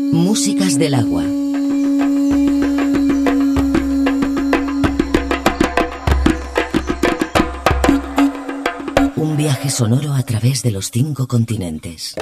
Músicas del agua. Un viaje sonoro a través de los 5 continentes.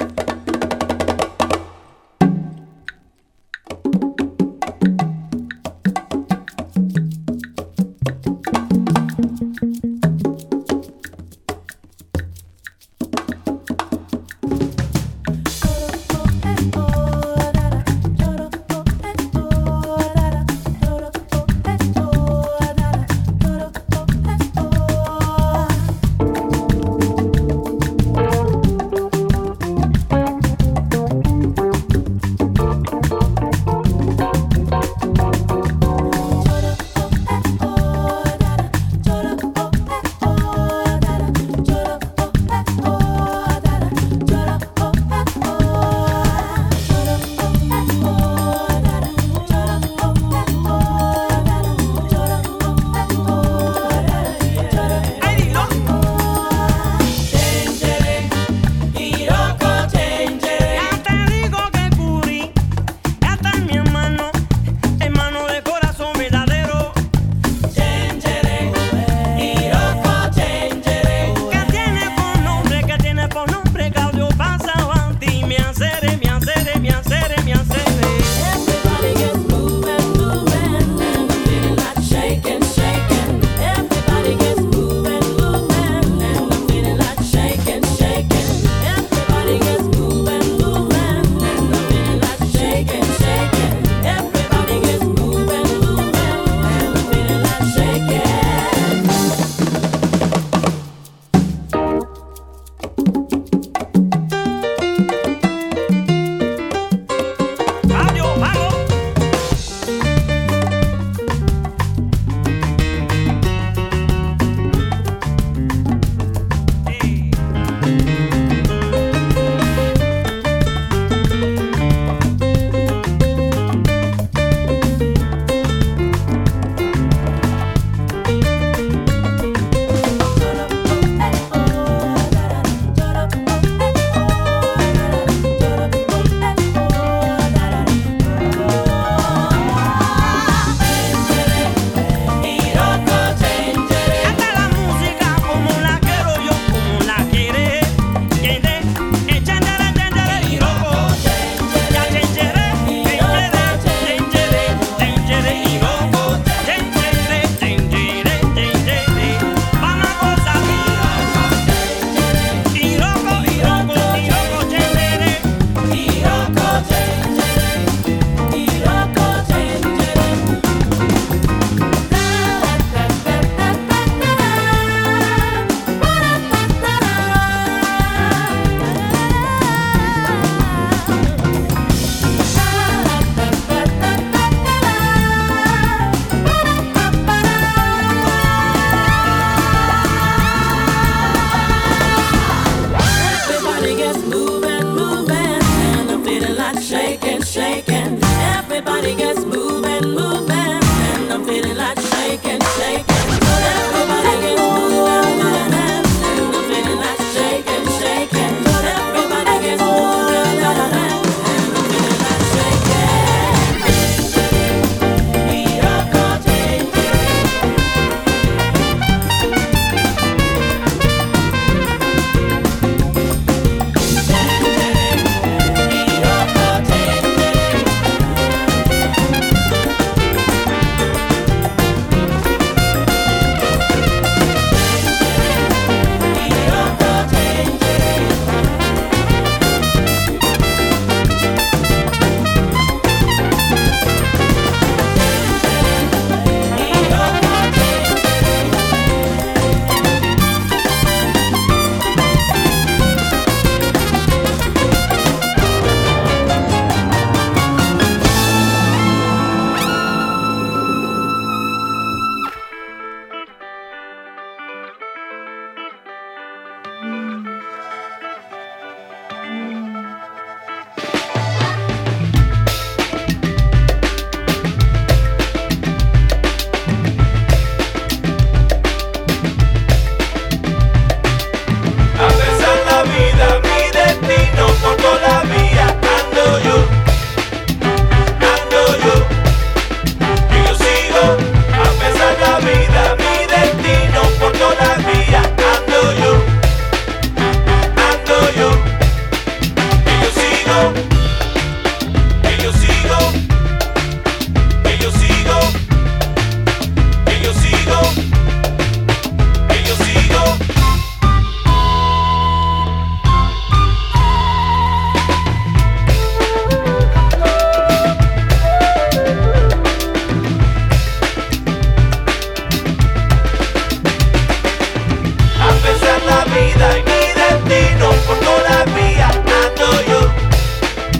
A pesar la vida y mi destino, por todavía ando yo.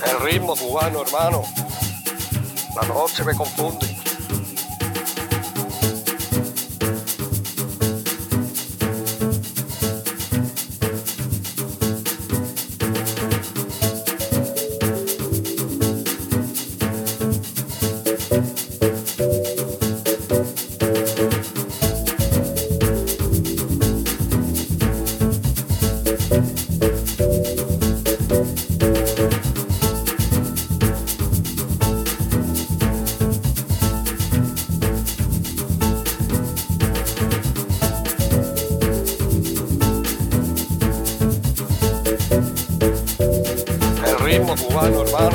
El ritmo cubano, hermano. La noche me confunde. Ritmo cubano, hermano.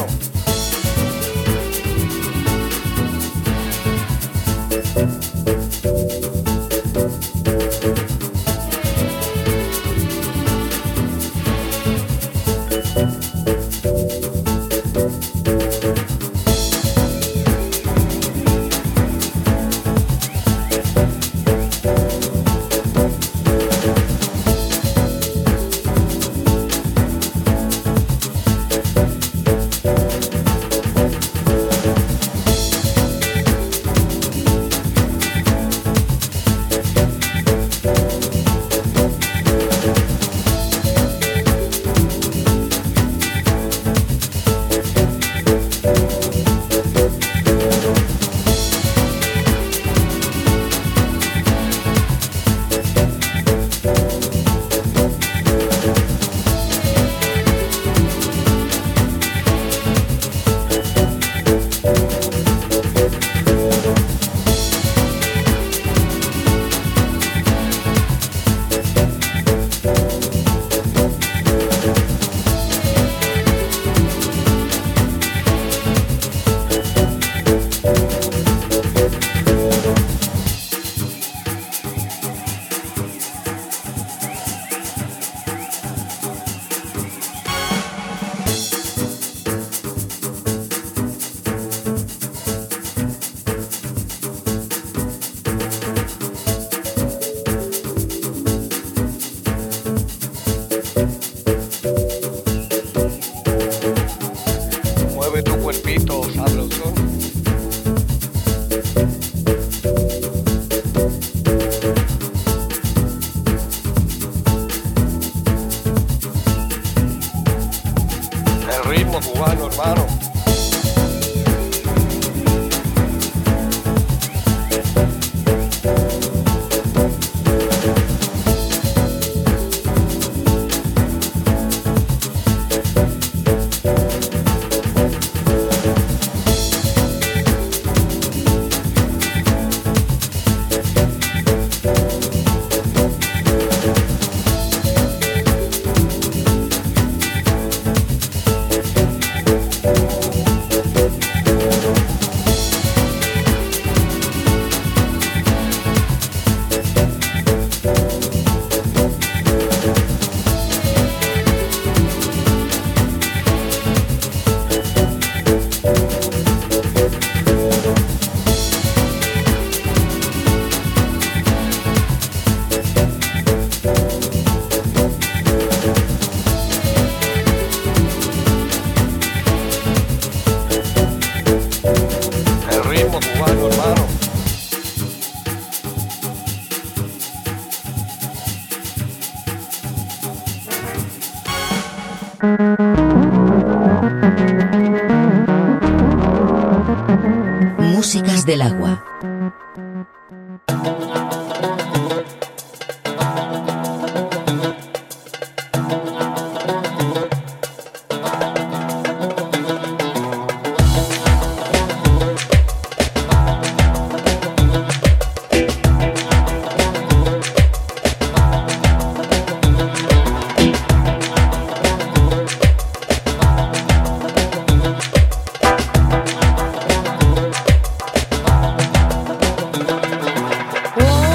Mueve tu cuerpito, sabrosón. El ritmo cubano, hermano. El ritmo cubano, hermano. Músicas del agua. Whoa.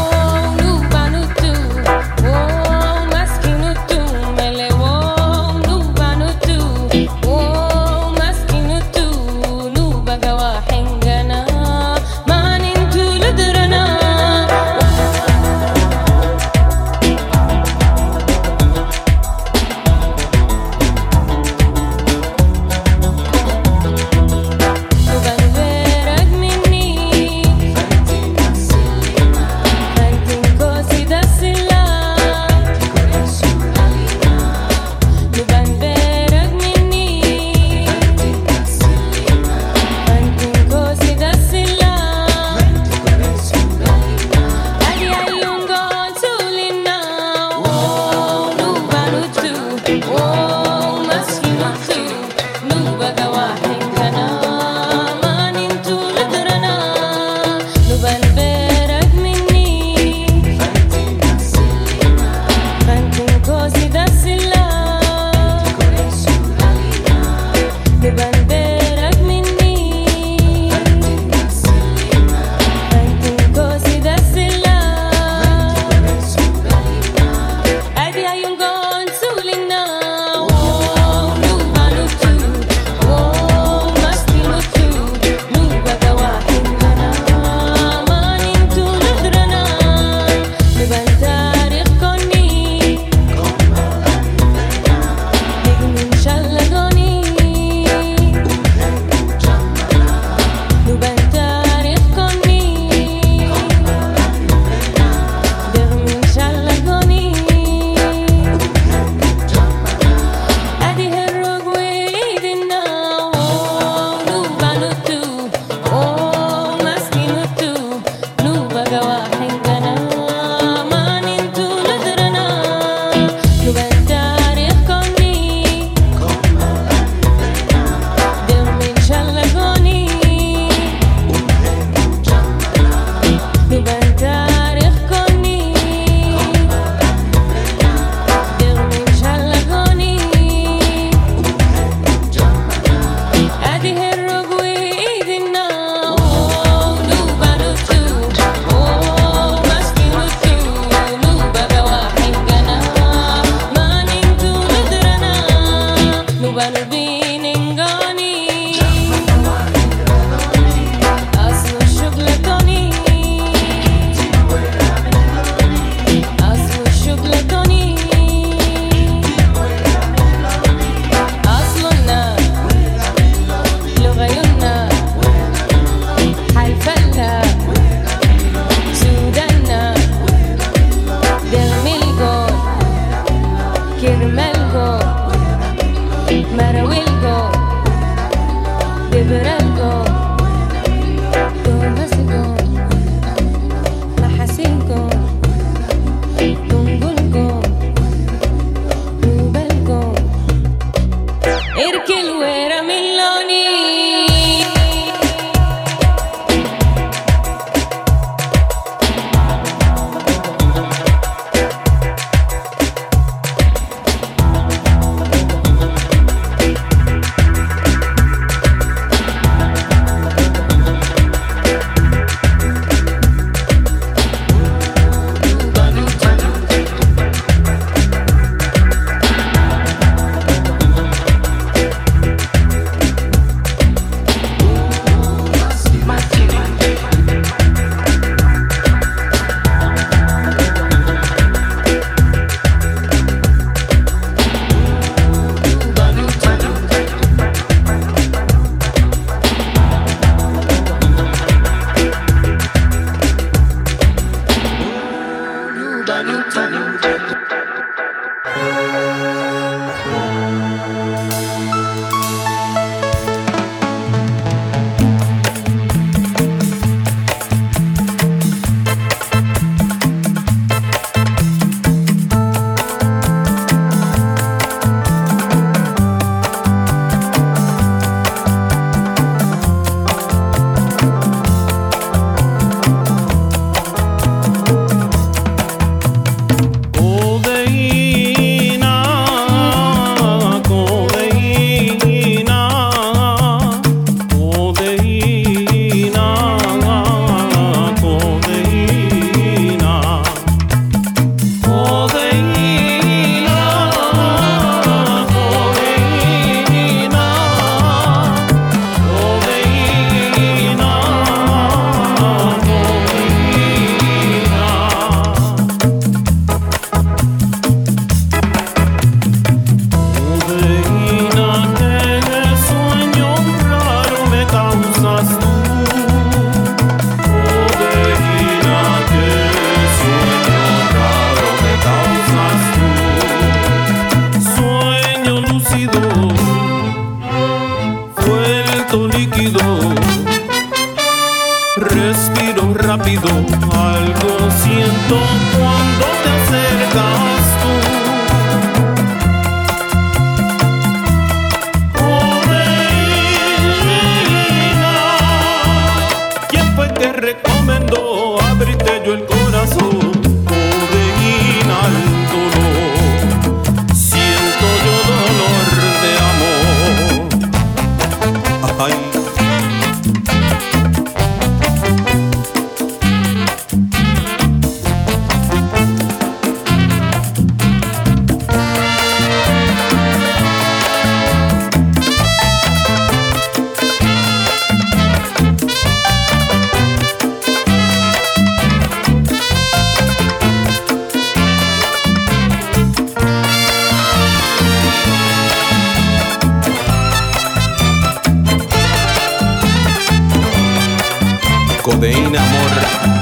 Codeína, amor,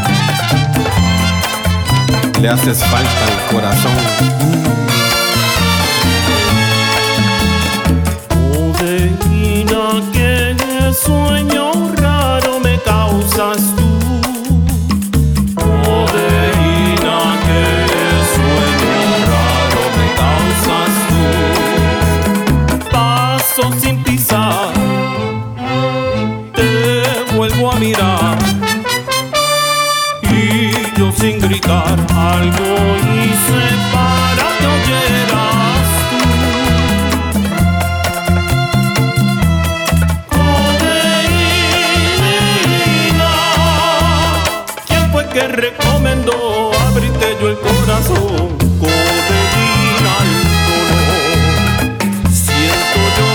le haces falta al corazón. Codeína, qué sueño raro me causas tú. Codeína, qué sueño raro me causas tú. Paso sin pisar, te vuelvo a mirar. Sin gritar, algo hice para que oyeras tú. Codeína, ¿quién fue que recomendó abrirte yo el corazón? Codeína al dolor, siento yo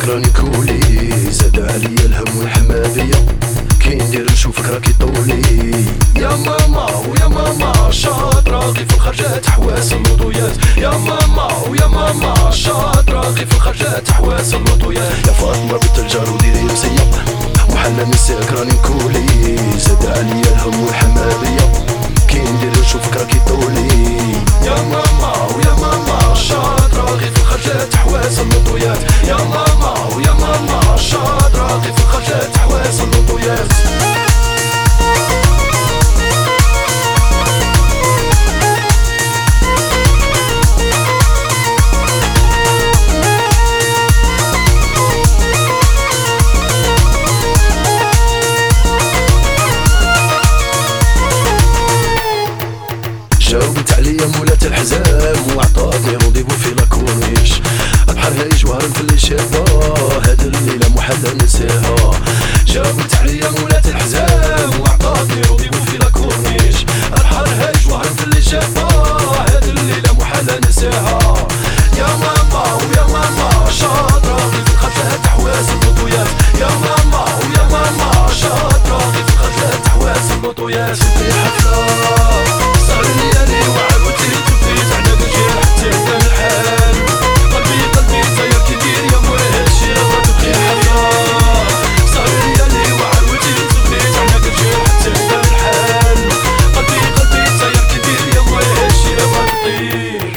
راني كولي زاد عليا الهم والحمادية كي ندير نشوفك راكي طولي يا ماما ويا ماما شاطرة غي في الخرجات حواس اللوطويات يا ماما ويا ماما شاطرة غي في الخرجات حواس اللوطويات يا فاطمة بنت الجار وديري مسية وحنا نساك راني نكولي زاد عليا الهم والحمادية كي ندير نشوفك راكي طولي يا ماما ويا ماما شاطرة غي في الخرجات حواس اللوطويات يا ماما ويا ماما شاطرة غي في الخرجات حواس اللوطويات جاوبت عليا مولات الحزام وعطاتني رونديفو في لاكورنيش البحر هايج وهرب في اللي شافا هاد الليلة محال ننساها جاوبت عليا مولات الحزام وعطاتني رونديفو في لاكورنيش البحر هايج وهرب في اللي شافا هاد الليلة محال ننساها يا ماما ويا ماما شاطرة غي في الخرجات حواس اللوطويات يا ماما ويا ماما شاطرة غي في الخرجات حواس اللوطويات في حفلة صار ليالي وعاودتي تبديت على الجيل حتى كان الحال قلبي ساير كبير يا موي هادشي راه تبقي حياة صار ليالي وعاودتي تبديت على الجيل حتى كان الحال قلبي ساير كبير يا موي هادشي راه تطير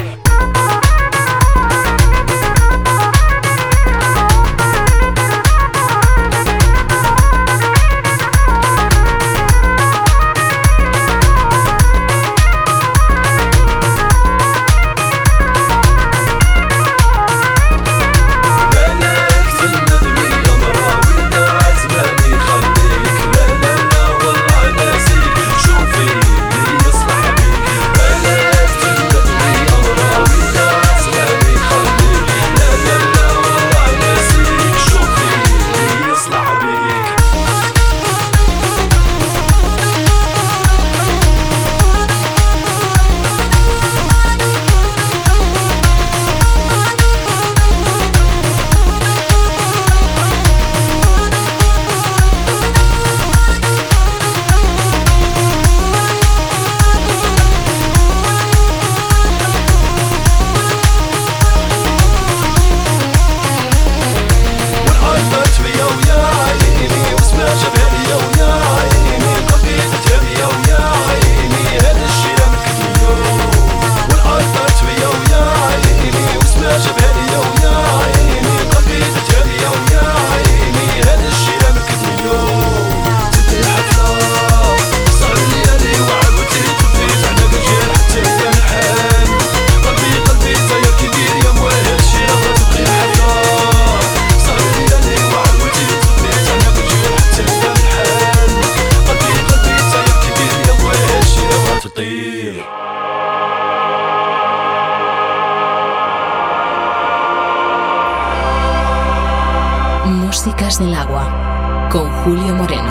Músicas del agua con Julio Moreno.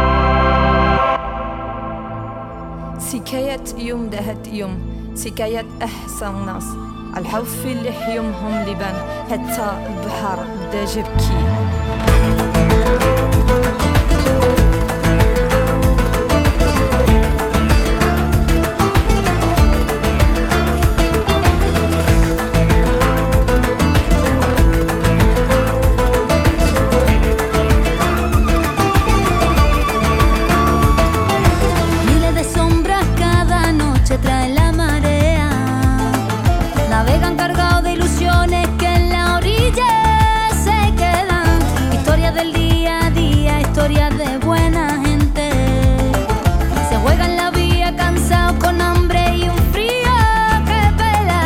سكاية يوم دهت يوم سكاية أحسن ناس الحوف اللي حيومهم لبان حتى البحر بدا جبكي trae la marea, navegan cargados de ilusiones que en la orilla se quedan. Historias del día a día, historias de buena gente. Se juegan la vía cansados con hambre y un frío que pela.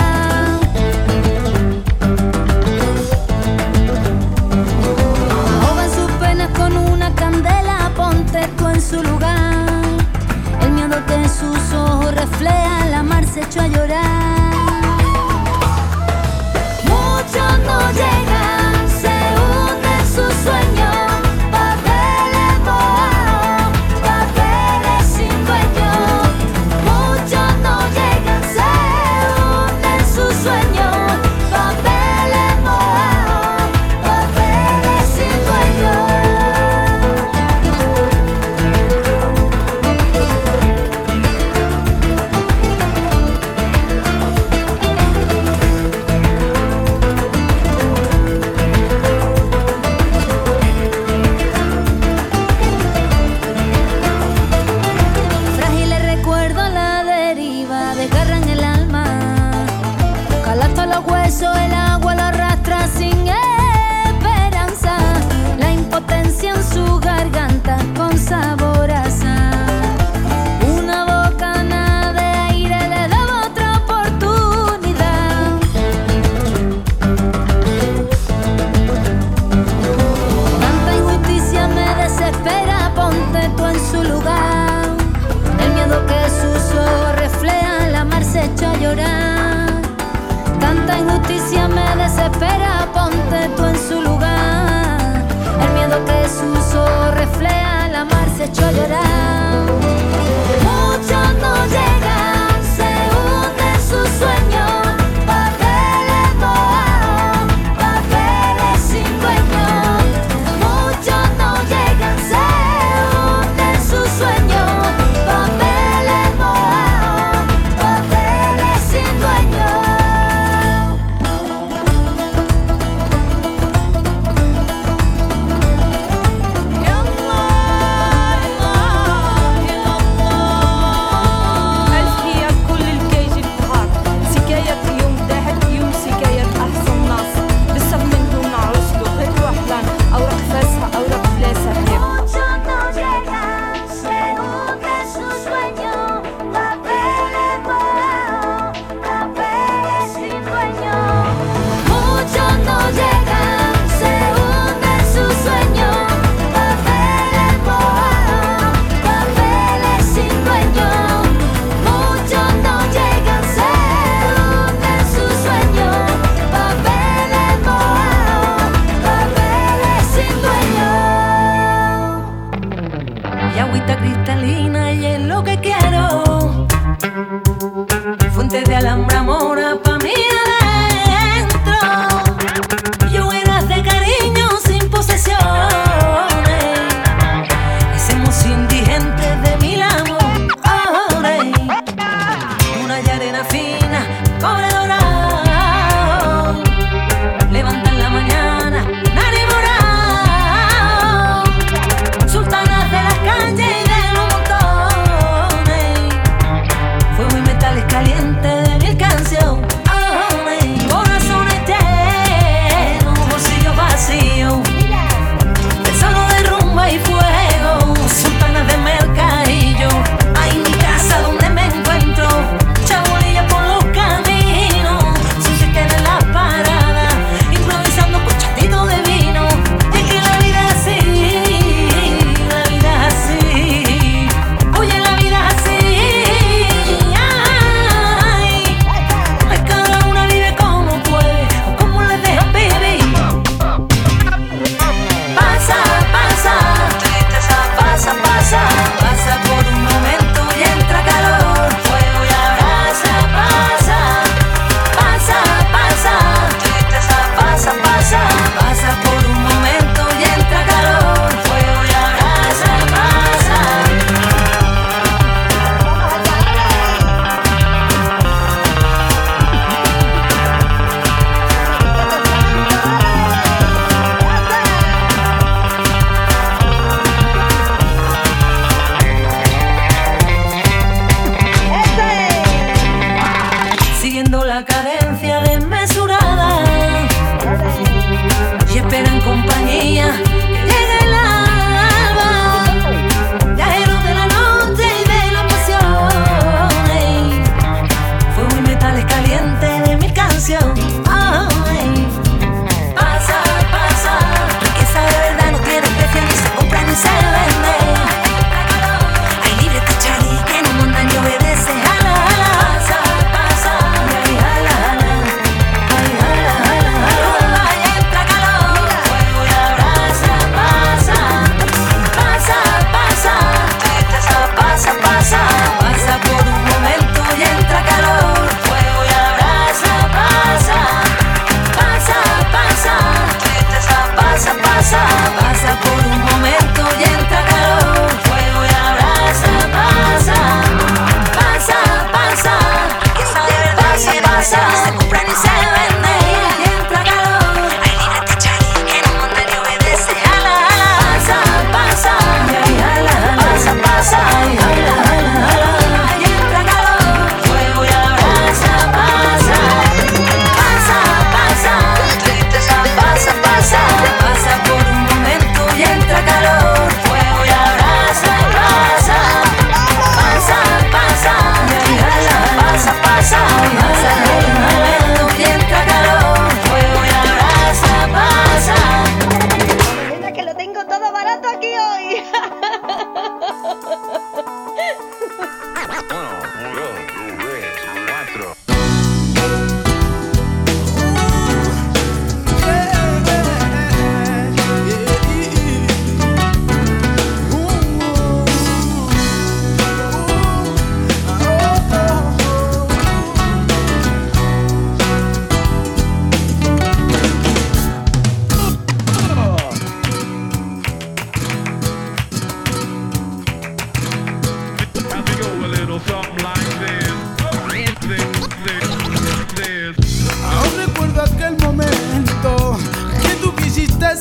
Ahogan sus penas con una candela, ponte tú en su lugar. El miedo que en sus ojos refleja, la mar se echó a llorar. Muchos no llegan, se hunden sus sueños. Papeles mojados, papeles sin dueño. Muchos no llegan, se hunden sus sueños. Papeles mojados, papeles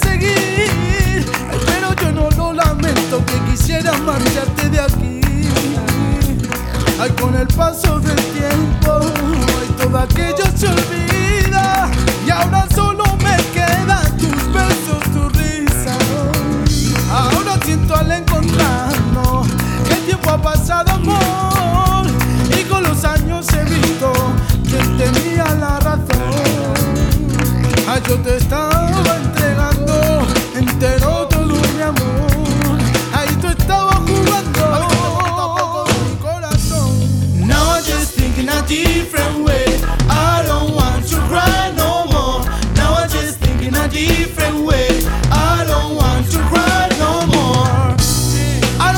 seguir. Ay, pero yo no lo lamento, que quisiera marcharte de aquí. Ay, con el paso del tiempo, ay, todo aquello se olvida. Y ahora solo me quedan tus besos, tu risa. Ahora siento al encontrarnos que el tiempo ha pasado, amor. Y con los años he visto que tenía la razón. Ay, yo te estaba entregando entero todo mi amor. Ahí tú estabas jugando con mi corazón. Now I'm just thinking a different way. I don't want to cry no more. Now I'm just thinking a different way. I don't want to cry no more. I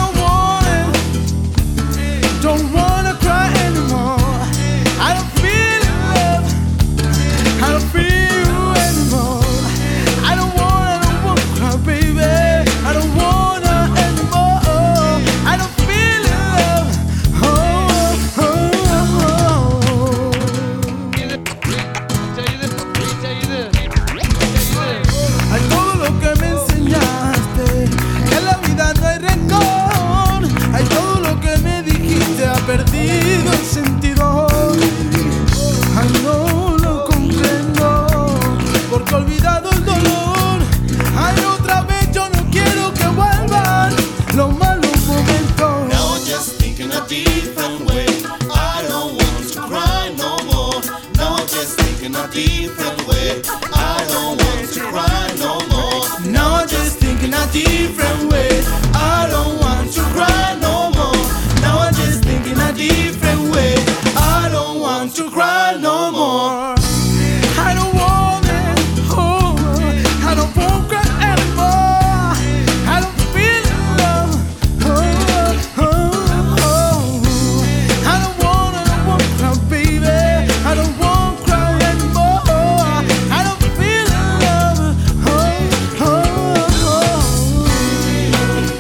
don't wanna cry anymore. I don't feel love. I don't feel you anymore. I don't wanna cry, baby. I don't wanna anymore. I don't feel love. Ay, todo lo que me enseñaste, que en la vida no hay rencor. Ay, todo lo que me dijiste ha perdido el sentido. Ay, no lo comprendo, porque he olvidado el dolor. Ay, otra vez yo no quiero que vuelvan los malos momentos. Now I'm just thinking a different way. I don't want to cry no more. Now I'm just thinking a different way. I don't want to cry no more. Now I'm just thinking a different way. I don't want to cry no more. Now I'm just thinking a different way. I don't want to cry no more. I don't want it. Oh, I don't want to cry anymore. I don't feel love. I don't wanna cry, baby. I don't want to cry anymore. I don't feel love.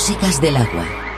músicas del agua.